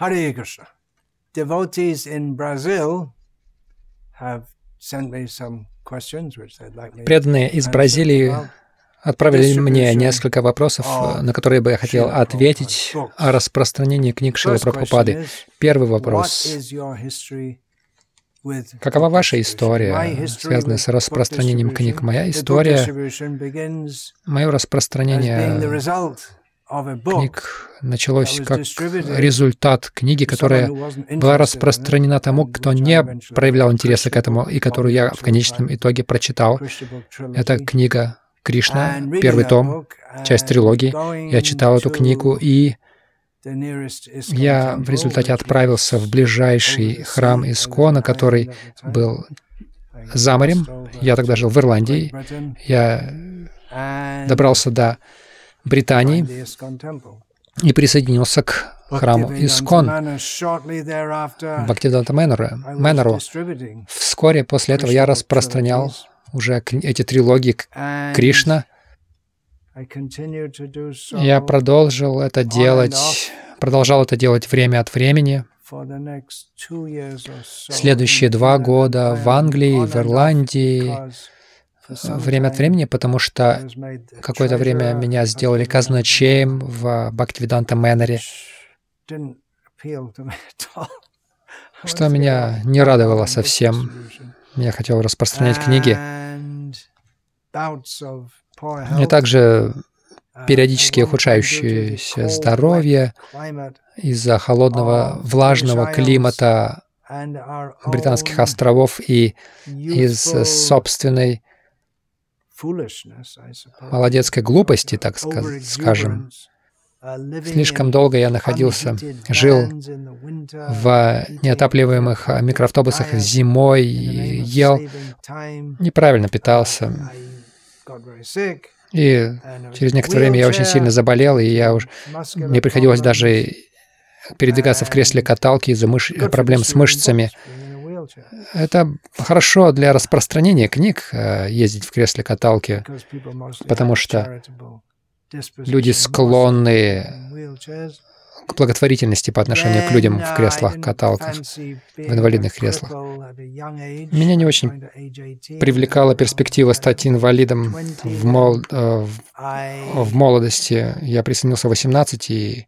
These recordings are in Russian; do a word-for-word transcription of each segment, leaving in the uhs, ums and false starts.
Hare Krishna. Devotees in Brazil have sent me some questions which they'd like me Преданные из Бразилии отправили мне несколько вопросов, на которые бы я хотел ответить о распространении книг Шрилы Прабхупады. Первый вопрос. Какова ваша история, связанная с распространением книг? Моя история, мое распространение книг началось как результат книги, которая была распространена тому, кто не проявлял интереса к этому, и которую я в конечном итоге прочитал. Это книга Кришна, первый том, часть трилогии. Я читал эту книгу, и я в результате отправился в ближайший храм Искона, который был за морем. Я тогда жил в Ирландии. Я добрался до Британии и присоединился к храму Искон, Бхактивиданта Мэннеру. Вскоре после этого я распространял уже эти трилогии Кришна. Я продолжил это делать, продолжал это делать время от времени. Следующие два года в Англии, в Ирландии, время от времени, потому что какое-то время меня сделали казначеем в Бхактивиданта Мэннере, что меня не радовало совсем. Я хотел распространять книги. И также периодически ухудшающееся здоровье из-за холодного, влажного климата британских островов и из собственной молодецкой глупости, так скажем. Слишком долго я находился, жил в неотапливаемых микроавтобусах зимой, ел, неправильно питался. И через некоторое время я очень сильно заболел, и я уж... мне приходилось даже передвигаться в кресле каталки из-за мыш... проблем с мышцами. Это хорошо для распространения книг, ездить в кресле каталки, потому что люди склонны к благотворительности по отношению к людям в креслах-каталках, в инвалидных креслах. Меня не очень привлекала перспектива стать инвалидом в, мол... в молодости. Я присоединился в восемнадцать, и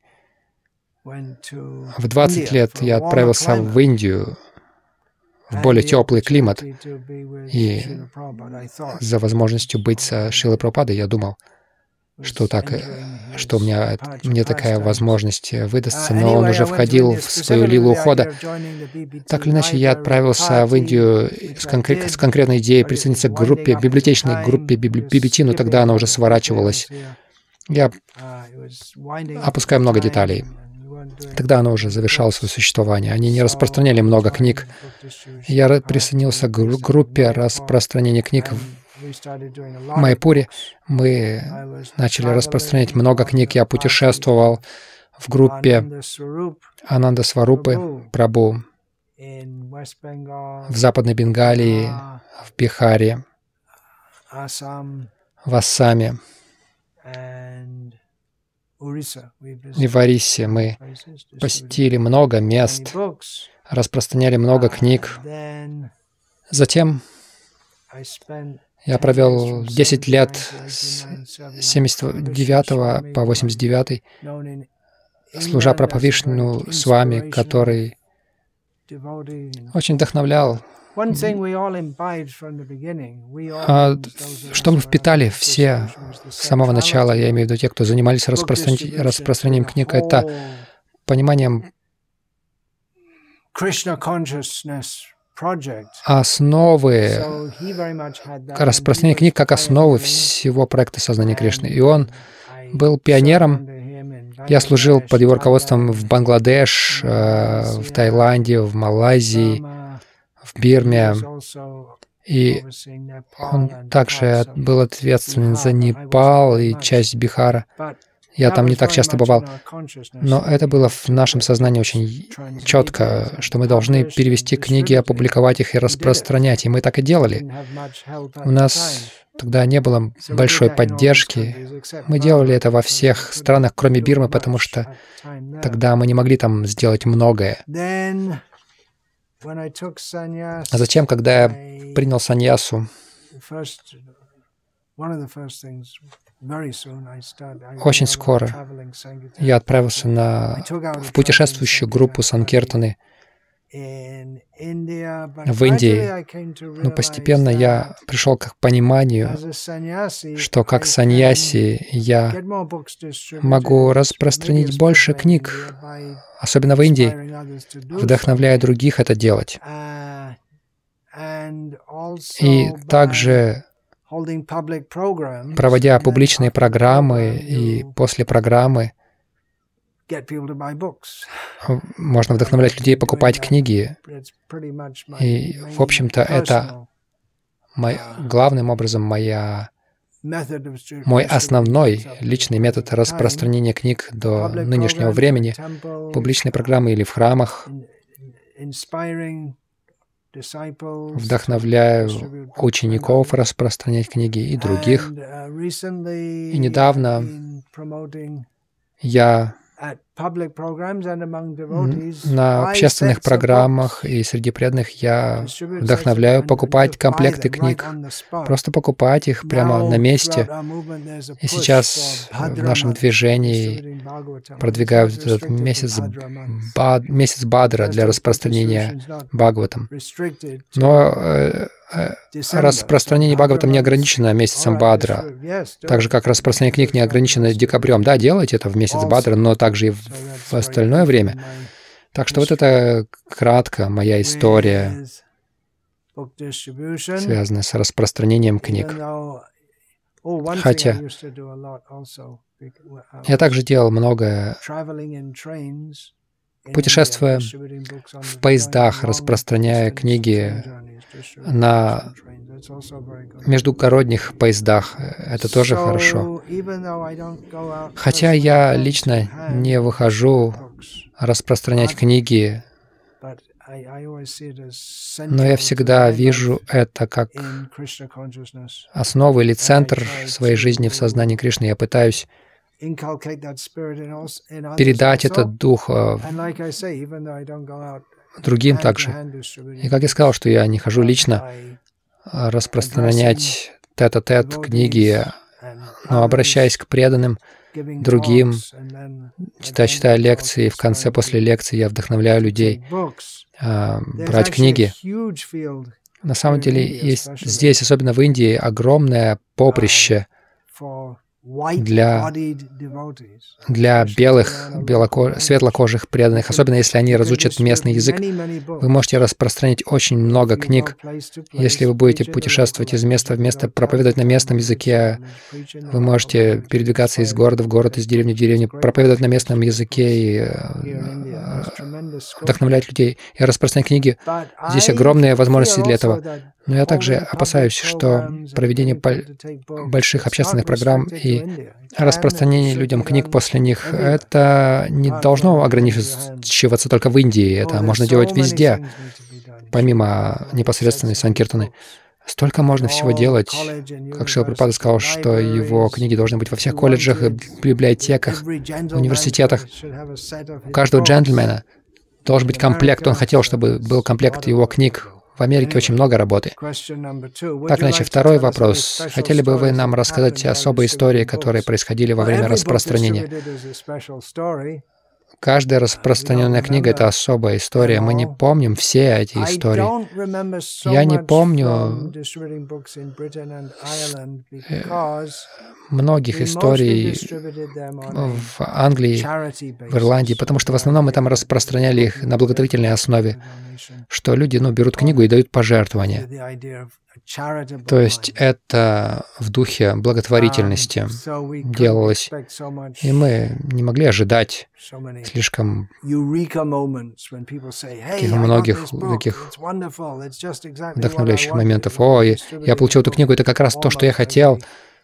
в двадцать лет я отправился в Индию, в более теплый климат. И за возможностью быть со Шрилой Прабхупадой я думал, что так, что у меня, мне такая возможность выдастся, но он уже входил в свою лилу ухода. Так или иначе, я отправился в Индию с, конкрет, с конкретной идеей присоединиться к группе, библиотечной группе би би ти, но тогда она уже сворачивалась. Я опускаю много деталей. Тогда она уже завершала свое существование. Они не распространяли много книг. Я присоединился к группе распространения книг в Майпуре. Мы начали распространять много книг. Я путешествовал в группе Ананда Сварупы Прабху в Западной Бенгалии, в Бихаре, в Ассаме и в Ориссе. Мы посетили много мест, распространяли много книг. Затем я провел десять лет с семьдесят девятого по восемьдесят девятый, служа Прабхавишну с вами, который очень вдохновлял. А что мы впитали все с самого начала, я имею в виду те, кто занимались распростран... распространением книг, это пониманием основы, распространение книг как основы всего проекта сознания Кришны. И он был пионером. Я служил под его руководством в Бангладеш, в Таиланде, в Малайзии, в Бирме. И он также был ответственен за Непал и часть Бихара. Я там не так часто бывал, но это было в нашем сознании очень четко, что мы должны перевести книги, опубликовать их и распространять, и мы так и делали. У нас тогда не было большой поддержки. Мы делали это во всех странах, кроме Бирмы, потому что тогда мы не могли там сделать многое. А затем, когда я принял саньясу, очень скоро я отправился на, в путешествующую группу Санкиртаны в Индии. Но постепенно я пришел к пониманию, что как саньяси я могу распространить больше книг, особенно в Индии, вдохновляя других это делать. И также проводя публичные программы, и после программы можно вдохновлять людей покупать книги. И, в общем-то, это мой, главным образом моя, мой основной личный метод распространения книг до нынешнего времени. Публичные программы или в храмах. Вдохновляю учеников распространять книги и других. И недавно я на общественных программах и среди преданных я вдохновляю покупать комплекты книг, просто покупать их прямо на месте. И сейчас в нашем движении продвигаю этот месяц, бад, месяц Бадра для распространения Бхагаватам. Но э, э, распространение Бхагаватам не ограничено месяцем Бадра, так же как распространение книг не ограничено декабрем. Да, делайте это в месяц Бадра, но также и в в остальное время. Так что вот это кратко моя история, связанная с распространением книг. Хотя я также делал многое, путешествуя в поездах, распространяя книги на междугородних поездах. Это тоже хорошо. Хотя я лично не выхожу распространять книги, но я всегда вижу это как основу или центр своей жизни в сознании Кришны. Я пытаюсь передать этот дух другим также. И как я сказал, что я не хожу лично распространять тет-а-тет книги, но обращаясь к преданным, другим, читая, читая лекции, в конце, после лекции я вдохновляю людей а, брать книги. На самом деле есть здесь, особенно в Индии, огромное поприще для, для белых, белоко... светлокожих преданных, особенно если они разучат местный язык. Вы можете распространить очень много книг. Если вы будете путешествовать из места в место, проповедовать на местном языке, вы можете передвигаться из города в город, из деревни в деревню, проповедовать на местном языке и вдохновлять людей и распространять книги. Здесь огромные возможности для этого. Но я также опасаюсь, что проведение больших общественных программ и распространение людям книг после них, это не должно ограничиваться только в Индии. Это можно делать везде, помимо непосредственной санкиртаны. Столько можно всего делать. Как Шрила Прабхупада сказал, что его книги должны быть во всех колледжах, библиотеках, университетах. У каждого джентльмена должен быть комплект. Он хотел, чтобы был комплект его книг. В Америке очень много работы. Так, иначе, второй вопрос. Хотели бы вы нам рассказать особые истории, которые происходили во время распространения? Каждая распространенная книга — это особая история. Мы не помним все эти истории. Я не помню многих историй в Англии, в Ирландии, потому что в основном мы там распространяли их на благотворительной основе, что люди ну, берут книгу и дают пожертвования. То есть это в духе благотворительности делалось, и мы не могли ожидать слишком таких многих таких вдохновляющих моментов. О, я получил эту книгу, это как раз то, что я хотел.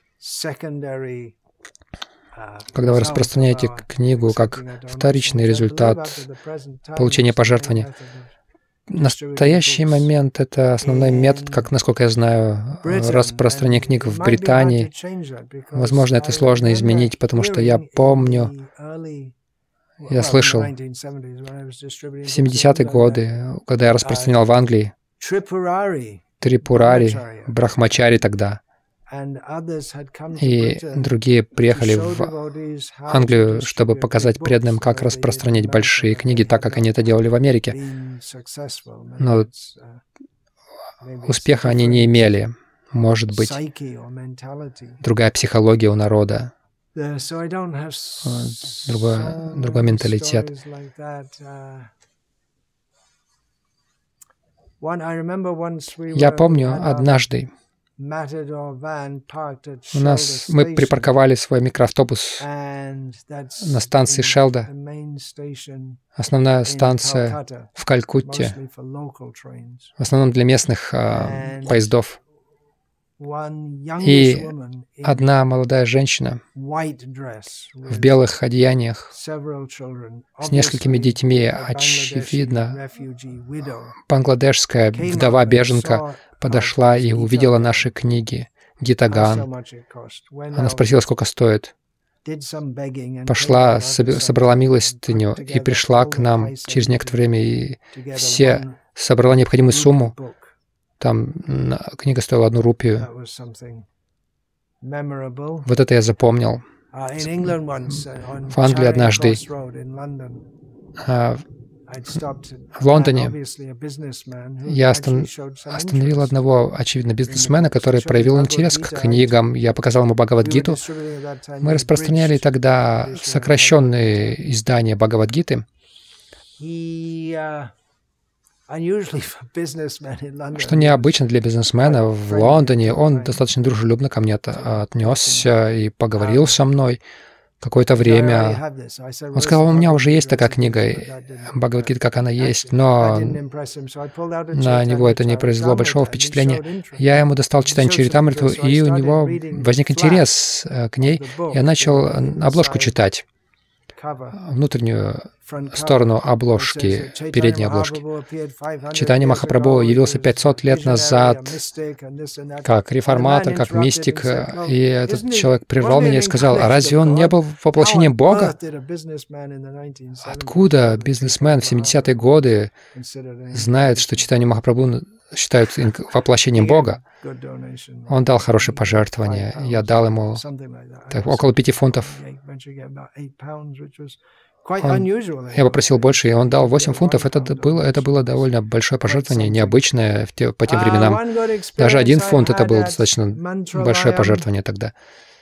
Когда вы распространяете книгу как вторичный результат получения пожертвования, настоящий момент — это основной метод, как, насколько я знаю, распространения книг в Британии. Возможно, это сложно изменить, потому что я помню, я слышал в семидесятые годы, когда я распространял в Англии, Трипурари, Брахмачари тогда, и другие приехали в Англию, чтобы показать преданным, как распространять большие книги, так как они это делали в Америке. Но успеха они не имели. Может быть, другая психология у народа, другой, другой менталитет. Я помню, однажды у нас мы припарковали свой микроавтобус на станции Шелда, основная станция в Калькутте, в основном для местных а, поездов. И одна молодая женщина в белых одеяниях с несколькими детьми, очевидно, бангладешская вдова-беженка, подошла и увидела наши книги «Гита-ган». Она спросила, сколько стоит. Пошла, собрала милостыню и пришла к нам через некоторое время, и все собрала необходимую сумму. Там книга стоила одну рупию. Вот это я запомнил. В Англии однажды, в Лондоне, я остановил одного, очевидно, бизнесмена, который проявил интерес к книгам. Я показал ему Бхагавад-гиту. Мы распространяли тогда сокращенные издания Бхагавад-гиты. Что необычно для бизнесмена в Лондоне, он достаточно дружелюбно ко мне отнесся и поговорил со мной какое-то время. Он сказал, у меня уже есть такая книга, Бхагавад-гита, как она есть, но на него это не произвело большого впечатления. Я ему достал читание Чаритамриту, и у него возник интерес к ней. Я начал обложку читать, внутреннюю сторону обложки, передней обложки. Чайтанья Махапрабху явился пятьсот лет назад как реформатор, как мистик, и этот человек прервал меня и сказал, а разве он не был воплощением Бога? Откуда бизнесмен в семидесятые годы знает, что Чайтанья Махапрабху считают воплощением Бога? Он дал хорошее пожертвование. Я дал ему так, около пяти фунтов. Он, я попросил больше, и он дал восемь фунтов. Это было, это было довольно большое пожертвование, необычное в те, по тем временам. Даже один фунт — это было достаточно большое пожертвование тогда.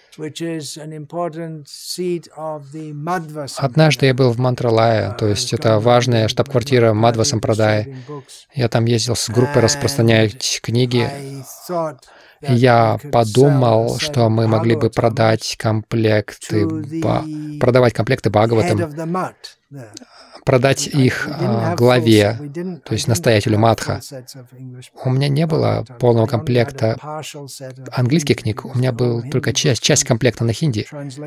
Однажды я был в Мантралае, то есть это важная штаб-квартира Мадхва Сампрадай. Я там ездил с группой распространять книги. И я подумал, что мы могли бы продать комплекты, ба, продавать комплекты Бхагаватам, продать их а, главе, то есть настоятелю Мадха. У меня не было полного комплекта английских книг, у меня был только часть, часть комплекта на хинди.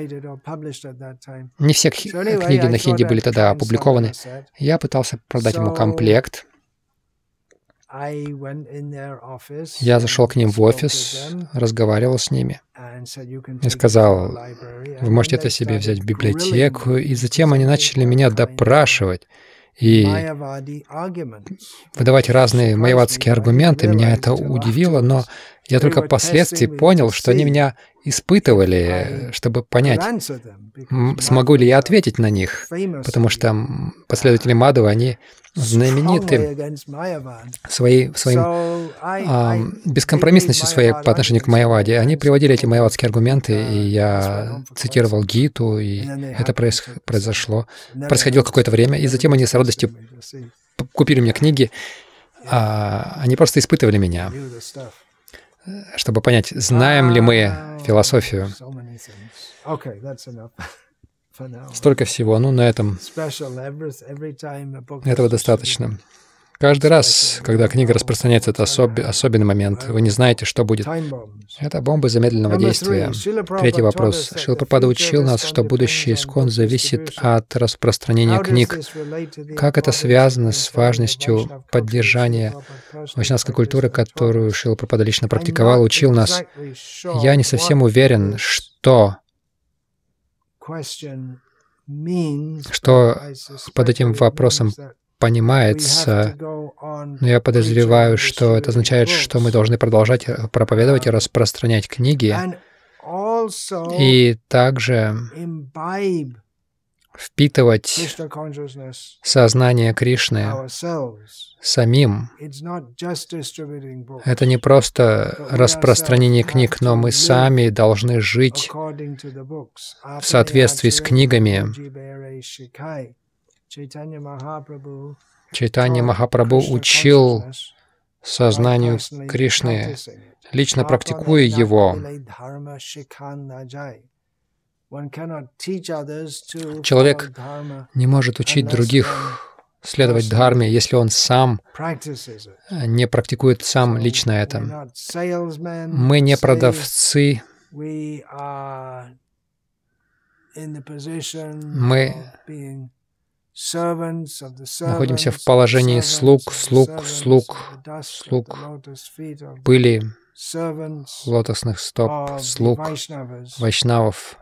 Не все книги на хинди были тогда опубликованы. Я пытался продать ему комплект. Я зашел к ним в офис, разговаривал с ними и сказал, вы можете это себе взять в библиотеку, и затем они начали меня допрашивать и выдавать разные майявадские аргументы. Меня это удивило, но я только впоследствии понял, что они меня испытывали, чтобы понять, смогу ли я ответить на них, потому что последователи Мадхвы, они знамениты своей, своим а, бескомпромиссностью своей по отношению к Майяваде. Они приводили эти майявадские аргументы, и я цитировал Гиту, и это проис, произошло. Происходило какое-то время, и затем они с радостью купили мне книги. А, они просто испытывали меня, чтобы понять, знаем ли мы философию. Столько всего, ну, на этом этого достаточно. Каждый раз, когда книга распространяется, это особ... особенный момент. Вы не знаете, что будет. Это бомбы замедленного действия. Третий вопрос. Шрила Прабхупада учил нас, что будущее ИСККОН зависит от распространения книг. Как это связано с важностью поддержания вайшнавской культуры, которую Шрила Прабхупада лично практиковал, учил нас? Я не совсем уверен, что, что под этим вопросом понимается, но я подозреваю, что это означает, что мы должны продолжать проповедовать и распространять книги, и также впитывать сознание Кришны самим. Это не просто распространение книг, но мы сами должны жить в соответствии с книгами. Чайтанья Махапрабху учил сознанию Кришны, лично практикуя его. Человек не может учить других следовать дхарме, если он сам не практикует сам лично это. Мы не продавцы, мы находимся в положении слуг, слуг, слуг, слуг, пыли, лотосных стоп, слуг, вайшнавов.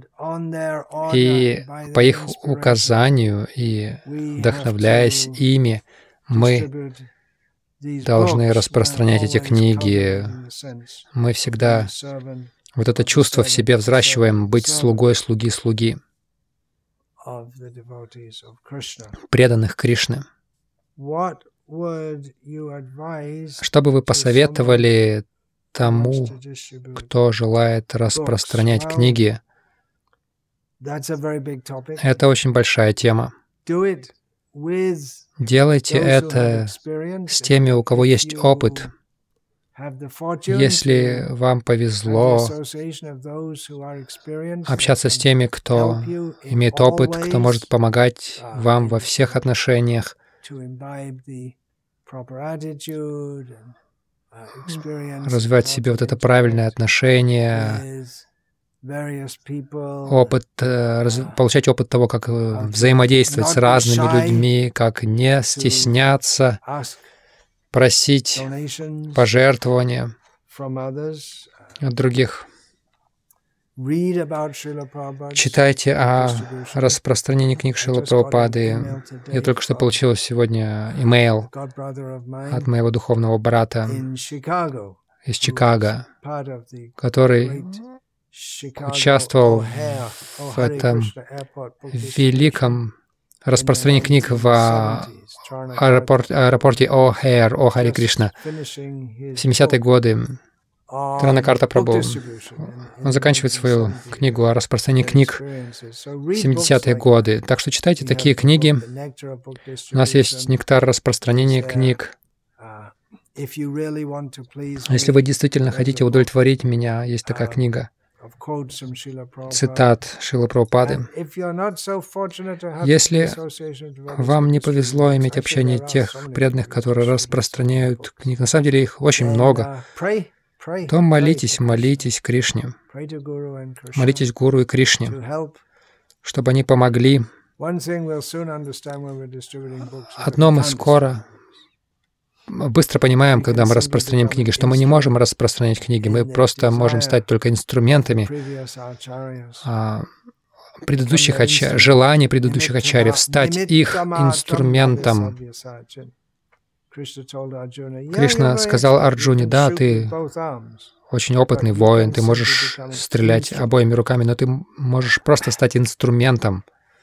И по их указанию и вдохновляясь ими, мы должны распространять эти книги. Мы всегда вот это чувство в себе взращиваем, быть слугой слуги слуги, преданных Кришны. Что бы вы посоветовали тому, кто желает распространять книги? Это очень большая тема. Делайте это с теми, у кого есть опыт. Если вам повезло общаться с теми, кто имеет опыт, кто может помогать вам во всех отношениях, развивать в себе вот это правильное отношение, опыт, получать опыт того, как взаимодействовать с разными людьми, как не стесняться, просить пожертвования от других. Читайте о распространении книг Шрилы Прабхупады. Я только что получил сегодня имейл от моего духовного брата из Чикаго, который участвовал в этом великом распространении книг в аэропорт, аэропорте О'Хейр, О Хари Кришна, в семидесятые годы. Транакарта Прабху. Он заканчивает свою книгу о распространении книг в семидесятые годы. Так что читайте такие книги. У нас есть нектар распространения книг. Если вы действительно хотите удовлетворить меня, есть такая книга. Цитат Шрилы Прабхупады. Если вам не повезло иметь общение тех преданных, которые распространяют книги, на самом деле их очень много, то молитесь, молитесь Кришне. Молитесь Гуру и Кришне, чтобы они помогли. Одно мы скоро, быстро понимаем, когда мы распространяем книги, что мы не можем распространять книги, мы просто можем стать только инструментами а, предыдущих ачарьев, желаний предыдущих ачарьев, стать их инструментом. Кришна сказал Арджуне: да, ты очень опытный воин, ты можешь стрелять обоими руками, но ты можешь просто стать инструментом.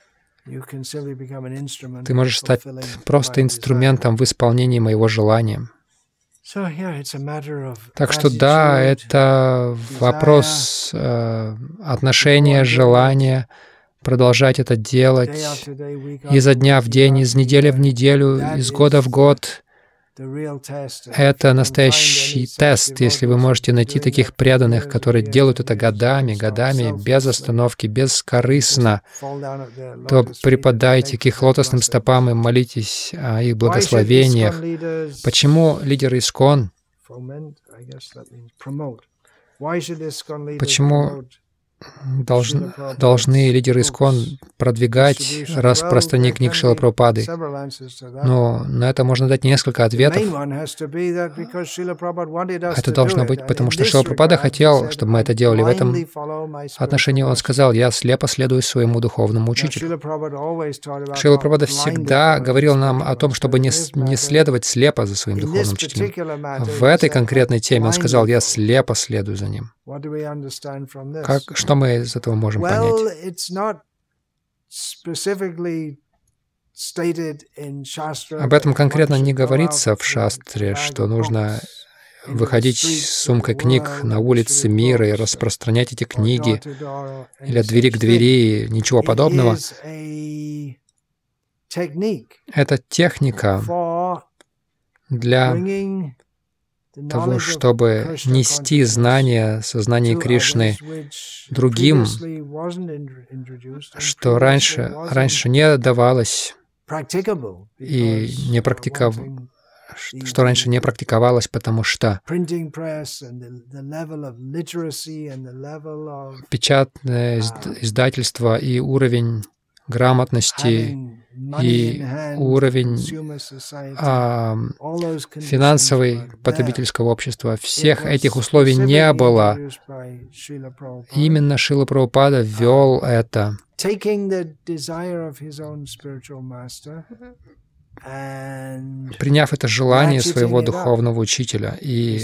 Ты можешь стать просто инструментом в исполнении моего желания. Так что да, это вопрос э, отношения, желания, продолжать это делать изо дня в день, из недели в неделю, из года в год, Это настоящий тест. Если вы можете найти таких преданных, которые делают это годами, годами, без остановки, бескорыстно, то припадайте к их лотосным стопам и молитесь о их благословениях. Почему лидеры ИСККОН? Почему Должны, должны лидеры ИСККОН продвигать распространение книг Шрилы Прабхупады? Но на это можно дать несколько ответов. Это должно быть, потому что Шрила Прабхупада хотел, чтобы мы это делали. В этом отношении он сказал: «Я слепо следую своему духовному учителю». Шрила Прабхупада всегда говорил нам о том, чтобы не, не следовать слепо за своим духовным учителем. В этой конкретной теме он сказал: «Я слепо следую за ним». Как, что мы из этого можем понять? Об этом конкретно не говорится в шастре, что нужно выходить с сумкой книг на улицы мира и распространять эти книги, или от двери к двери, ничего подобного. Это техника для того, чтобы нести знания, сознание Кришны другим, что раньше, раньше не давалось и не практиков... что раньше не практиковалось, потому что печатное издательство и уровень грамотности и уровень а, финансовой потребительского общества. Всех этих условий не было. Именно Шрила Прабхупада ввел это. Приняв это желание своего духовного учителя и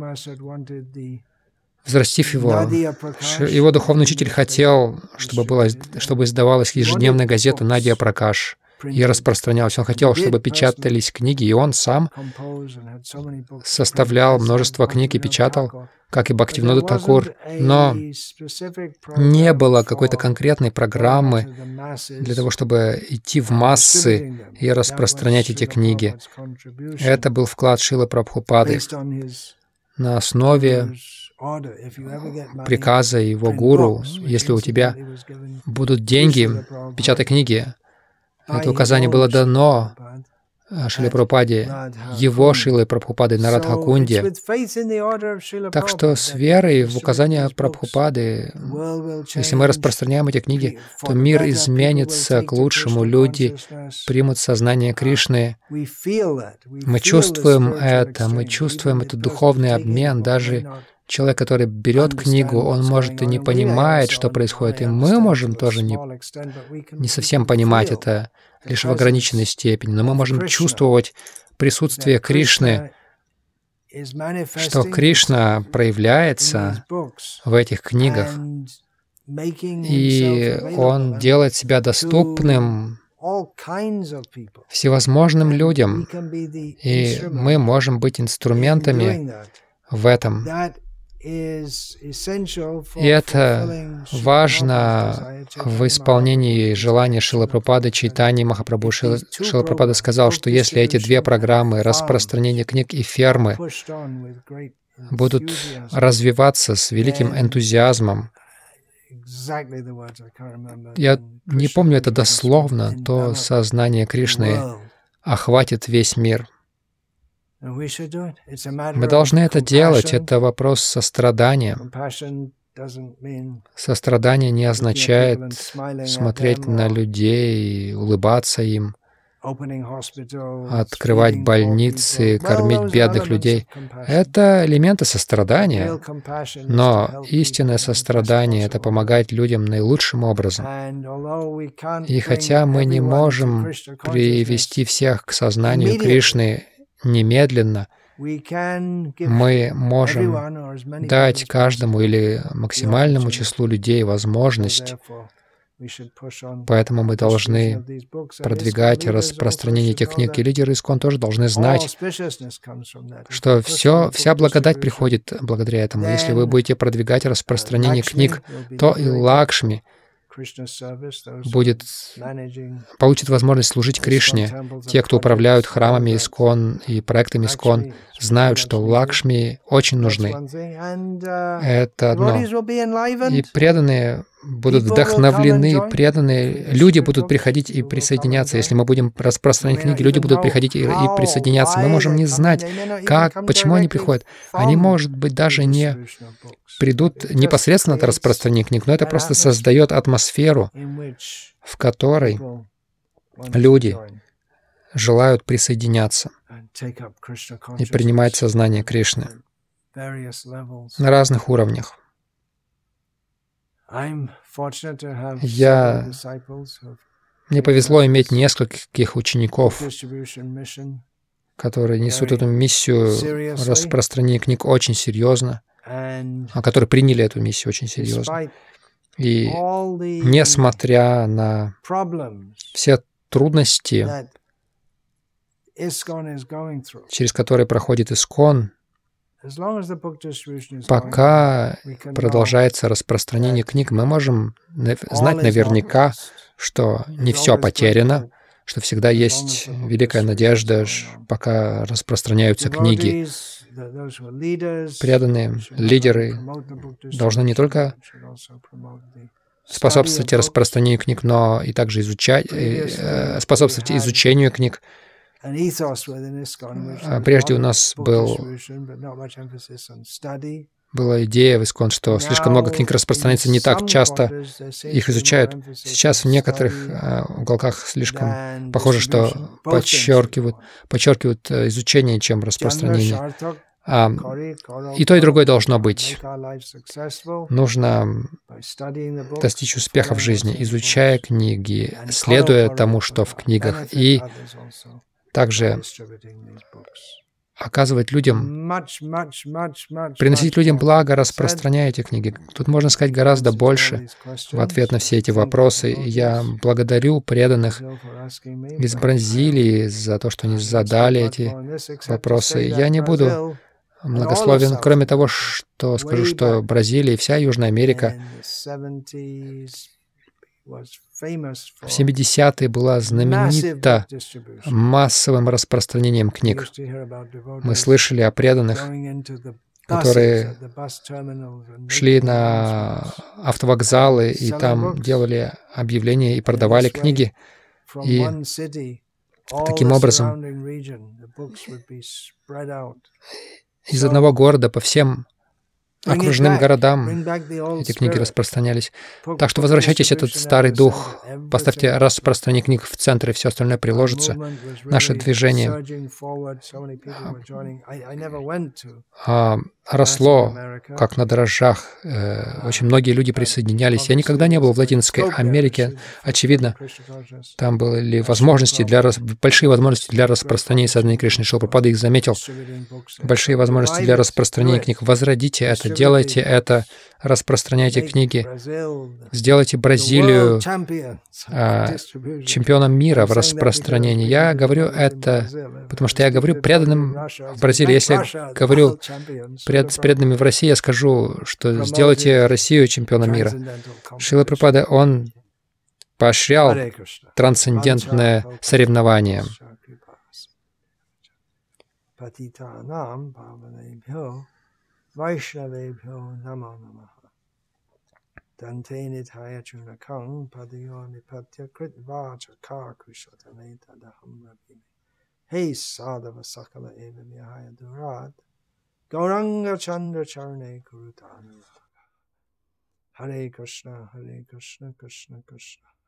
взрастив его, его духовный учитель хотел, чтобы, была, чтобы издавалась ежедневная газета «Надия Пракаш» и распространялась. Он хотел, чтобы печатались книги, и он сам составлял множество книг и печатал, как и Бхактивинода Такур, но не было какой-то конкретной программы для того, чтобы идти в массы и распространять эти книги. Это был вклад Шрилы Прабхупады на основе приказа его гуру. Если у тебя будут деньги, печатай книги. Это указание было дано Шриле Прабхупаде, его Шрилой Прабхупадой на Радхакунде. Так что с верой в указания Прабхупады, если мы распространяем эти книги, то мир изменится к лучшему, люди примут сознание Кришны. Мы чувствуем это, мы чувствуем этот духовный обмен. Даже человек, который берет книгу, он может и не понимает, что происходит, и мы можем тоже не, не совсем понимать это, лишь в ограниченной степени, но мы можем чувствовать присутствие Кришны, что Кришна проявляется в этих книгах, и Он делает себя доступным всевозможным людям, и мы можем быть инструментами в этом. И это важно в исполнении желания Шрилы Прабхупады, Чайтаньи Махапрабху. Шрила Прабхупада сказал, что если эти две программы, распространение книг и фермы, будут развиваться с великим энтузиазмом, я не помню это дословно, то сознание Кришны охватит весь мир. Мы должны это делать. Это вопрос сострадания. Сострадание не означает смотреть на людей и улыбаться им, открывать больницы, кормить бедных людей. Это элементы сострадания. Но истинное сострадание — это помогать людям наилучшим образом. И хотя мы не можем привести всех к сознанию Кришны немедленно, мы можем дать каждому или максимальному числу людей возможность. Поэтому мы должны продвигать распространение этих книг. И лидеры ИСККОН тоже должны знать, что все, вся благодать приходит благодаря этому. Если вы будете продвигать распространение книг, то и Лакшми, будет, получит возможность служить Кришне. Те, кто управляют храмами Искон и проектами Искон, знают, что Лакшми очень нужны. Это одно. И преданные будут вдохновлены, преданные люди будут приходить и присоединяться. Если мы будем распространять книги, люди будут приходить и, и присоединяться. Мы можем не знать, как, почему они приходят. Они, может быть, даже не придут непосредственно от распространения книг, но это просто создает атмосферу, в которой люди желают присоединяться и принимать сознание Кришны на разных уровнях. Я... Мне повезло иметь нескольких учеников, которые несут эту миссию распространения книг очень серьезно, а которые приняли эту миссию очень серьезно. И несмотря на все трудности, через которые проходит Искон, пока продолжается распространение книг, мы можем знать наверняка, что не все потеряно, что всегда есть великая надежда, пока распространяются книги. Преданные лидеры должны не только способствовать распространению книг, но и также изучать, э, способствовать изучению книг. Прежде у нас был, была идея в Искон, что слишком много книг распространяется, не так часто их изучают. Сейчас в некоторых уголках слишком похоже, что подчеркивают, подчеркивают изучение, чем распространение. А, и то, и другое должно быть. Нужно достичь успеха в жизни, изучая книги, следуя тому, что в книгах, и также оказывать людям, приносить людям благо, распространяя эти книги. Тут можно сказать гораздо больше в ответ на все эти вопросы. Я благодарю преданных из Бразилии за то, что они задали эти вопросы. Я не буду многословен, кроме того, что скажу, что Бразилия и вся Южная Америка в семидесятые была знаменита массовым распространением книг. Мы слышали о преданных, которые шли на автовокзалы и там делали объявления и продавали книги. И таким образом из одного города по всем окружным городам эти книги распространялись. Так что возвращайтесь, этот старый дух, поставьте распространение книг в центр, и все остальное приложится. Наше движение а, росло, как на дрожжах. Э, очень многие люди присоединялись. Я никогда не был в Латинской Америке. Очевидно, там были возможности для, большие возможности для распространения сознания Кришны. Шрила Прабхупада их заметил. Большие возможности для распространения книг. Возродите это, делайте это, распространяйте книги. Сделайте Бразилию а, чемпионом мира в распространении. Я говорю это, потому что я говорю преданным в Бразилии. Если я говорю пред, с преданными в России, я скажу, что сделайте Россию чемпионом мира. Шрила Прабхупада, он поощрял трансцендентное соревнование. Gauranga Chandra Charne Kurutanu. Hare Krishna, Hare Krishna, Krishna Krishna.